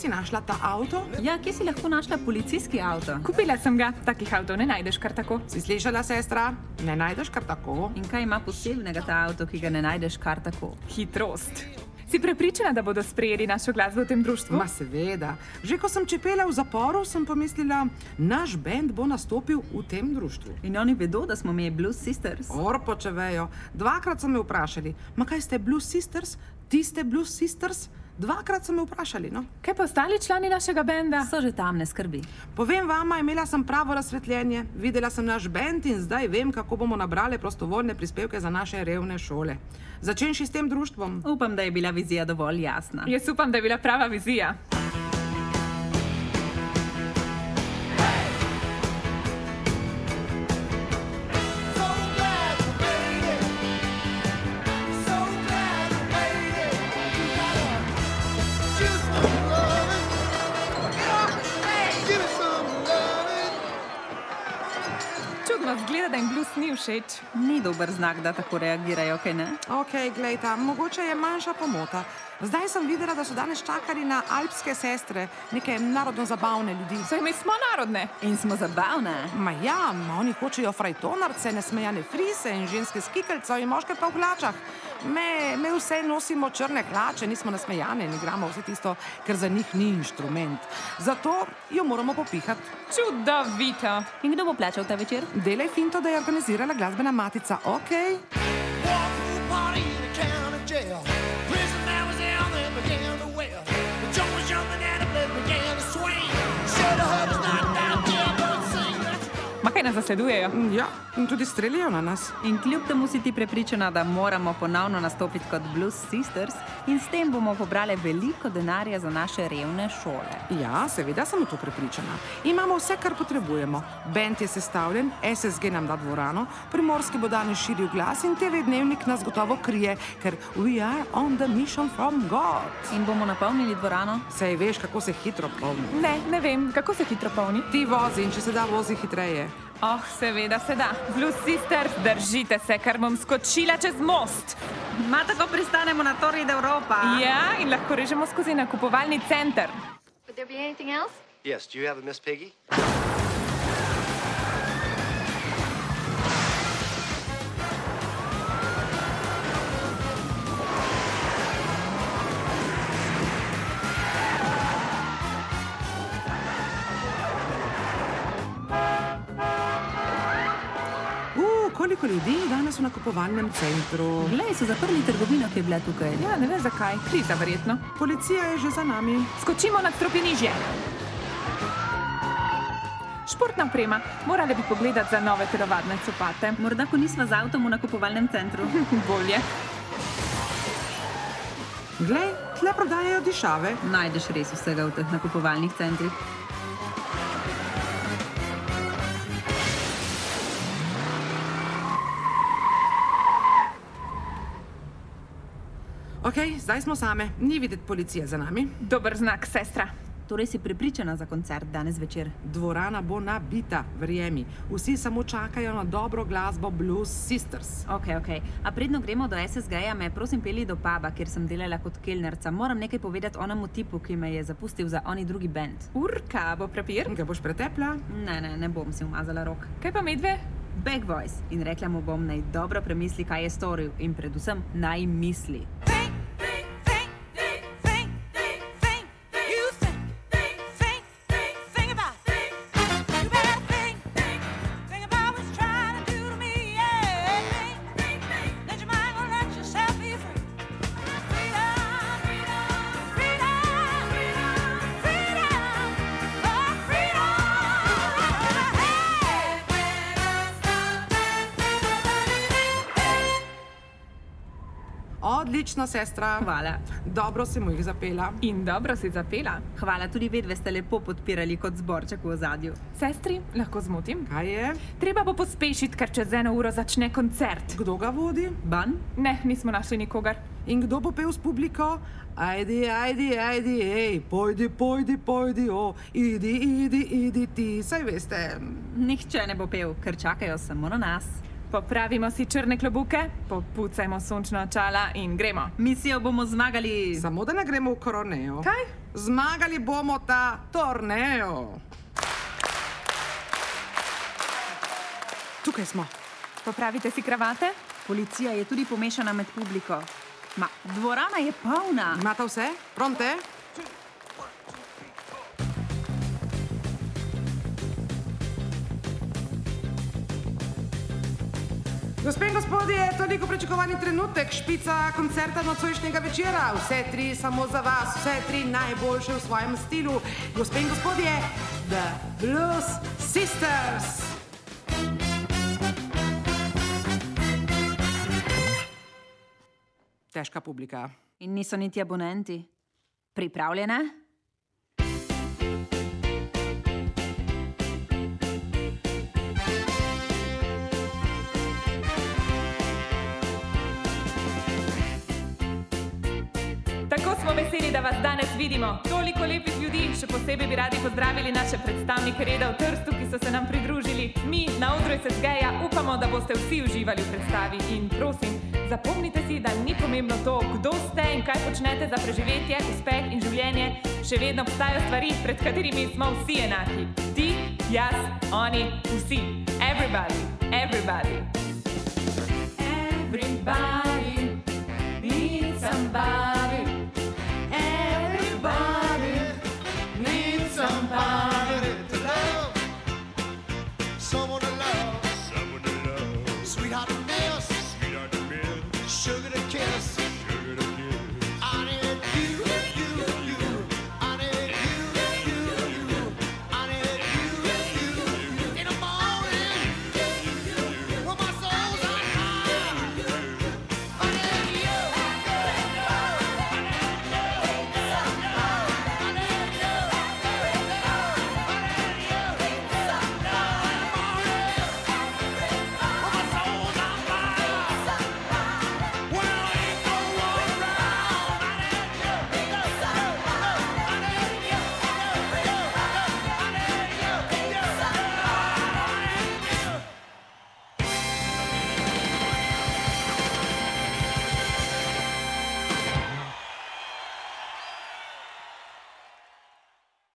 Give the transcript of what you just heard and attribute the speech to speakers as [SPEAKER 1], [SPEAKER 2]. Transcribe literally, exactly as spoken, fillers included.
[SPEAKER 1] si našla ta avto?
[SPEAKER 2] Ja, kje si lahko našla policijski avto?
[SPEAKER 3] Kupila sem ga, takih avtov ne najdeš kar tako.
[SPEAKER 1] Si slišala, sestra? Ne najdeš kar tako.
[SPEAKER 2] In kaj ima posebnega ta avto, ki ga ne najdeš kar tako?
[SPEAKER 3] Hitrost. Si prepričana, da bodo sprejeli našo glasbo v tem društvu?
[SPEAKER 1] Ma seveda. Že ko sem čepela v zaporu, sem pomislila, naš bend bo nastopil v tem društvu.
[SPEAKER 2] In oni vedo, da smo mi Blues Sisters?
[SPEAKER 1] Orpo, če vejo. Dvakrat so me vprašali, ma kaj ste Blues Sisters? Ti ste Blues Sisters? Dvakrat so me vprašali, no.
[SPEAKER 3] Kaj pa ostali člani našega benda?
[SPEAKER 2] So že tam, ne skrbi.
[SPEAKER 1] Povem vama, imela sem pravo razsvetljenje. Videla sem naš bend in zdaj vem, kako bomo nabrali prostovoljne prispevke za naše revne šole. Začenši s tem društvom.
[SPEAKER 2] Upam, da je bila vizija dovolj jasna.
[SPEAKER 3] Jaz upam, da je bila prava vizija. Zgleda, da jim blues ni všeč.
[SPEAKER 2] Ni dober znak, da tako reagirajo, kaj ne?
[SPEAKER 1] Ok, glejta, mogoče je manjša pomota. Zdaj sem videla, da so danes čakali na alpske sestre, neke narodno-zabavne ljudi.
[SPEAKER 3] Saj mi smo narodne.
[SPEAKER 2] In smo zabavne.
[SPEAKER 1] Ma ja, oni hočejo frajtonarce, nesmejane frise in ženske skikelcev in moške pa v hlačah. Me, me vse nosimo črne hlače, nismo nasmejane in igramo vse tisto, ker za njih ni inštrument. Zato jo moramo popihati.
[SPEAKER 3] Čudovito.
[SPEAKER 2] In kdo bo plačal ta večer?
[SPEAKER 1] Delaj finto, da je organizirala glasbena matica, okej?
[SPEAKER 3] Ma kaj nas zasledujejo?
[SPEAKER 1] Ja, in tudi streljajo na nas.
[SPEAKER 2] In kljub temu si ti prepričana, da moramo ponovno nastopiti kot Blues Sisters in s tem bomo pobrali veliko denarja za naše revne šole.
[SPEAKER 1] Ja, seveda sem v to prepričana. Imamo vse, kar potrebujemo. Bend je sestavljen, S S G nam da dvorano, Primorski bo danes širil glas in T V Dnevnik nas gotovo krije, ker we are on the mission from God.
[SPEAKER 2] In bomo napolnili dvorano?
[SPEAKER 1] Saj veš, kako se hitro polni.
[SPEAKER 3] Ne, ne vem, kako se hitro polni.
[SPEAKER 1] Ti vozi in če se da, vozi hitreje.
[SPEAKER 3] Oh, seveda se da. Blues Sisters, držite se, ker bom skočila čez most.
[SPEAKER 2] Ma tako pristanemo na Torri d'Europa.
[SPEAKER 3] Ja, in lahko režemo skozi nakupovalni center.
[SPEAKER 4] Would there be anything else?
[SPEAKER 5] Yes, do you have a Miss Piggy?
[SPEAKER 1] Koliko ljudi je danes v nakupovalnem centru?
[SPEAKER 2] Glej, so zaprli trgovino, ki je bila tukaj.
[SPEAKER 3] Ja, ne vem zakaj. Kriza verjetno.
[SPEAKER 1] Policija je že za nami.
[SPEAKER 3] Skočimo na stropnižje. Športna oprema. Morali bi pogledati za nove telovadne copate.
[SPEAKER 2] Morda, ko nisva z avtom v nakupovalnem centru.
[SPEAKER 3] Bolje.
[SPEAKER 1] Glej, tle prodajajo dišave.
[SPEAKER 2] Najdeš res vsega v teh nakupovalnih centrih.
[SPEAKER 1] Ok, zdaj smo same. Ni videti policije za nami.
[SPEAKER 3] Dober znak, sestra.
[SPEAKER 2] Torej si prepričana za koncert danes večer?
[SPEAKER 1] Dvorana bo nabita, verjemi. Vsi samo čakajo na dobro glasbo Blues Sisters.
[SPEAKER 2] Ok, ok. A predno gremo do S S G-ja, me prosim peli do puba, kjer sem delala kot kelnerca. Moram nekaj povedati onemu tipu, ki me je zapustil za oni drugi band.
[SPEAKER 3] Urka, bo prepir?
[SPEAKER 1] Ga boš pretepla?
[SPEAKER 2] Ne, ne, ne bom si umazala rok.
[SPEAKER 3] Kaj pa medve?
[SPEAKER 2] Back voice. In rekla mu bom, naj dobro premisli, kaj je storil. In predvsem naj misli.
[SPEAKER 1] Odlično, sestra.
[SPEAKER 2] Hvala.
[SPEAKER 1] Dobro si mu jih zapela.
[SPEAKER 3] In dobro si zapela.
[SPEAKER 2] Hvala, tudi vedve ste lepo podpirali kot zborček v ozadju.
[SPEAKER 3] Sestri, lahko zmotim?
[SPEAKER 1] Kaj je?
[SPEAKER 3] Treba bo pospešiti, ker čez eno uro začne koncert.
[SPEAKER 1] Kdo ga vodi?
[SPEAKER 2] Ban?
[SPEAKER 3] Ne, nismo našli nikogar.
[SPEAKER 1] In kdo bo pel s publiko? Ajdi, ajdi, ajdi, ej, pojdi, pojdi, pojdi, o, idi, idi, idi ti, saj veste.
[SPEAKER 2] Nihče ne bo pel, ker čakajo samo na nas.
[SPEAKER 3] Popravimo si črne klobuke, popucajmo sončna očala in gremo.
[SPEAKER 2] Misijo bomo zmagali.
[SPEAKER 1] Samo da ne gremo v koroneo.
[SPEAKER 3] Kaj?
[SPEAKER 1] Zmagali bomo ta torneo. Tukaj smo.
[SPEAKER 3] Popravite si kravate?
[SPEAKER 2] Policija je tudi pomešana med publiko. Ma, dvorana je polna.
[SPEAKER 1] Imate vse? Pronte? Gospe in gospodje, toliko pričakovani trenutek, špica koncerta nocojšnjega večera. Vse tri samo za vas, vse tri najboljše v svojem stilu. Gospe in gospodje, The Blues Sisters. Težka publika.
[SPEAKER 2] In niso niti abonenti. Pripravljene?
[SPEAKER 3] Tako smo veseli, da vas danes vidimo. Toliko lepih ljudi, še posebej bi radi pozdravili naše predstavnike reda v Trstu, ki so se nam pridružili. Mi na odru S S G-ja upamo, da boste vsi uživali v predstavi. In prosim, zapomnite si, da ni pomembno to, kdo ste in kaj počnete za preživetje, uspeh in življenje. Še vedno obstajajo stvari, pred katerimi smo vsi enaki. Ti, jaz, oni, vsi. Everybody, everybody.